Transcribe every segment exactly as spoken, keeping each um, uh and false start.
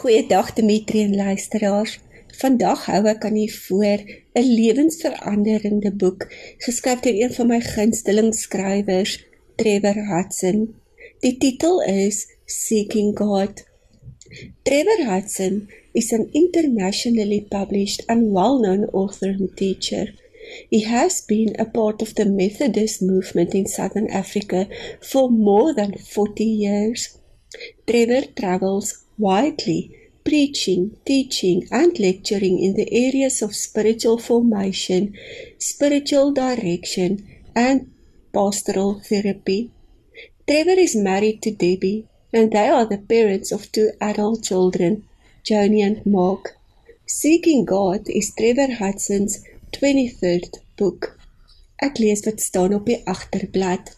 Goeiedag Dimitri en luisteraars. Vandag hou ek aan u voor 'n lewensveranderende boek, geskryf deur een van my gunsteling skrywers, Trevor Hudson. Die titel is Seeking God. Trevor Hudson is an internationally published and well-known author and teacher. He has been a part of the Methodist movement in Southern Africa for more than forty years. Trevor travels widely, preaching, teaching, and lecturing in the areas of spiritual formation, spiritual direction, and pastoral therapy. Trevor is married to Debbie, and they are the parents of two adult children, Joni and Mark. Seeking God is Trevor Hudson's twenty-third book. Ek lees wat staan op die agterblad.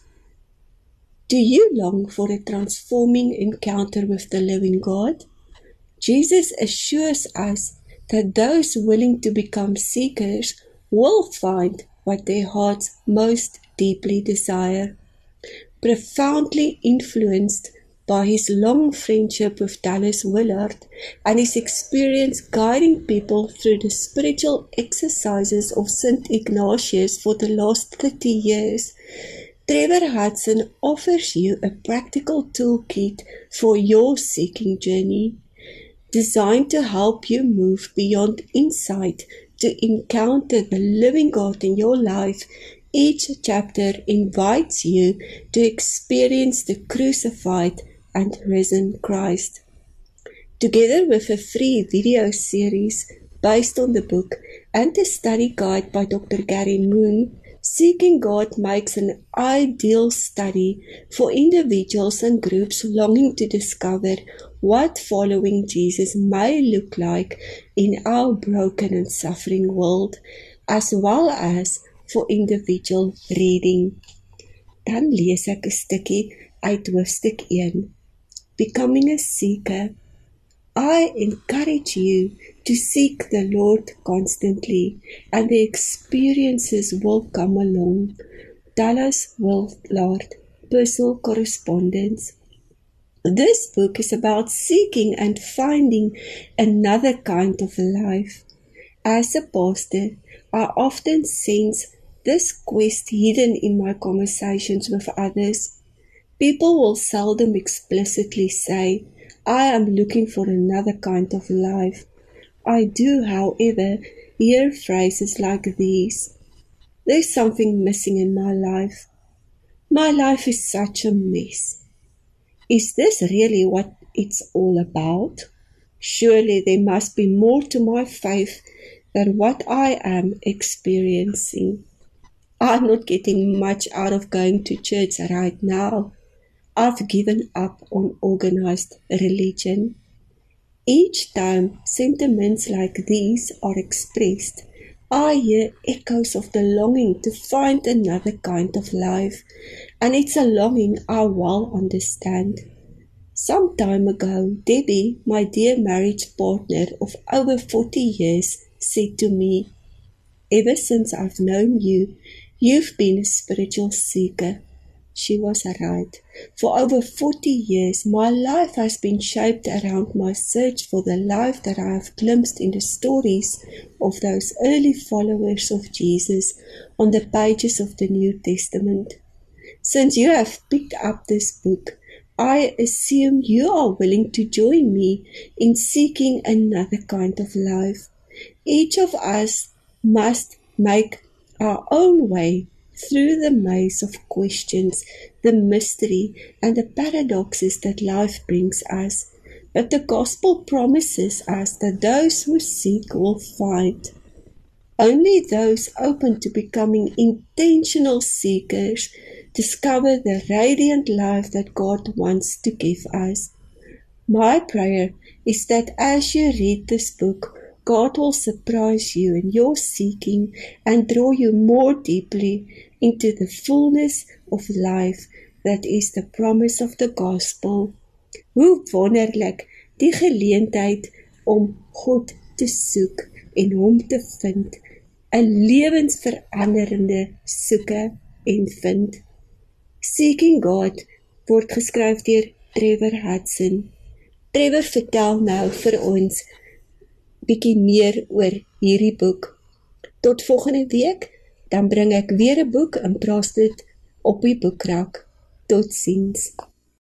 Do you long for a transforming encounter with the living God? Jesus assures us that those willing to become seekers will find what their hearts most deeply desire. Profoundly influenced by his long friendship with Dallas Willard and his experience guiding people through the spiritual exercises of Saint Ignatius for the last thirty years, Trevor Hudson offers you a practical toolkit for your seeking journey, designed to help you move beyond insight to encounter the living God in your life. Each chapter invites you to experience the crucified and risen Christ. Together with a free video series based on the book and a study guide by Doctor Gary Moon, Seeking God makes an ideal study for individuals and groups longing to discover what following Jesus may look like in our broken and suffering world, as well as for individual reading. Dan lees ek 'n stukkie uit hoofstuk een. Becoming a seeker. I encourage you to seek the Lord constantly, and the experiences will come along. Dallas Willard, Personal Correspondence. This book is about seeking and finding another kind of life. As a pastor, I often sense this quest hidden in my conversations with others. People will seldom explicitly say, I am looking for another kind of life. I do, however, hear phrases like these. There's something missing in my life. My life is such a mess. Is this really what it's all about? Surely there must be more to my faith than what I am experiencing. I'm not getting much out of going to church right now. I've given up on organized religion. Each time sentiments like these are expressed, I hear echoes of the longing to find another kind of life, and it's a longing I well understand. Some time ago, Debbie, my dear marriage partner of over forty years, said to me, ever since I've known you, you've been a spiritual seeker. She was right. For over forty years, my life has been shaped around my search for the life that I have glimpsed in the stories of those early followers of Jesus on the pages of the New Testament. Since you have picked up this book, I assume you are willing to join me in seeking another kind of life. Each of us must make our own way through the maze of questions, the mystery, and the paradoxes that life brings us. But the gospel promises us that those who seek will find. Only those open to becoming intentional seekers discover the radiant life that God wants to give us. My prayer is that as you read this book, God will surprise you in your seeking and draw you more deeply into the fullness of life that is the promise of the gospel. Hoe wonderlik die geleentheid om God te soek en hom te vind, 'n lewensveranderende soeke en vind. Seeking God word geskryf deur Trevor Hudson. Trevor vertel nou vir ons bietjie meer oor hierdie boek. Tot volgende week, dan bring ek weer 'n boek en plaas dit op die boekrak. Totsiens.